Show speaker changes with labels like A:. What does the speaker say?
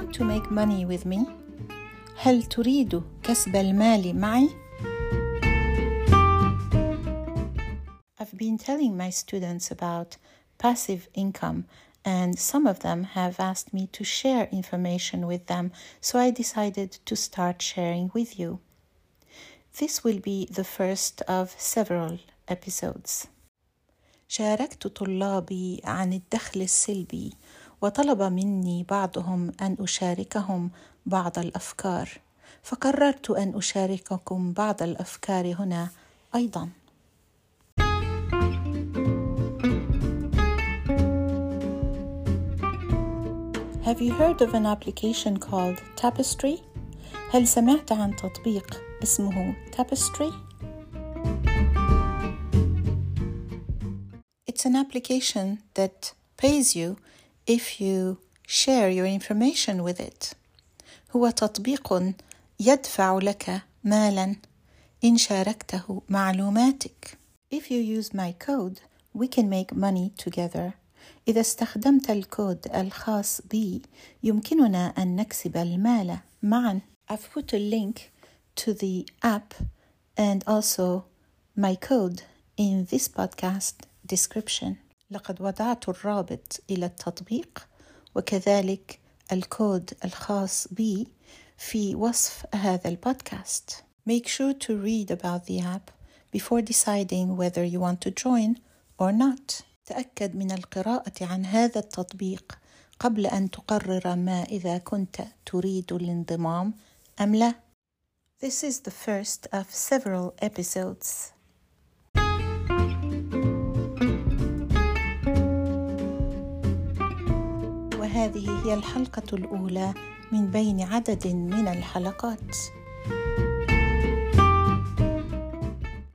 A: want to make money with me? هل تريد كسب المال معي؟ I've been telling my students about passive income, and some of them have asked me to share information with them, so I decided to start sharing with you. This will be the first of several episodes. شاركت طلابي عن الدخل السلبي، وطلب مني بعضهم أن أشاركهم بعض الأفكار، فقررت أن أشارككم بعض الأفكار هنا أيضاً. Have you heard of an application called Tapestry? هل سمعت عن تطبيق اسمه Tapestry? It's an application that pays you if you share your information with it. هو تطبيق يدفع لك مالاً إن شاركته معلوماتك. If you use my code, we can make money together. إذا استخدمت الكود الخاص بي يمكننا أن نكسب المال معاً. I've put a link to the app and also my code in this podcast description. لقد وضعت الرابط إلى التطبيق وكذلك الكود الخاص بي في وصف هذا البودكاست. Make sure to read about the app before deciding whether you want to join or not. تأكد من القراءة عن هذا التطبيق قبل أن تقرر ما إذا كنت تريد الانضمام أم لا. This is the first of several episodes. وهذه هي الحلقة الأولى من بين عدد من الحلقات.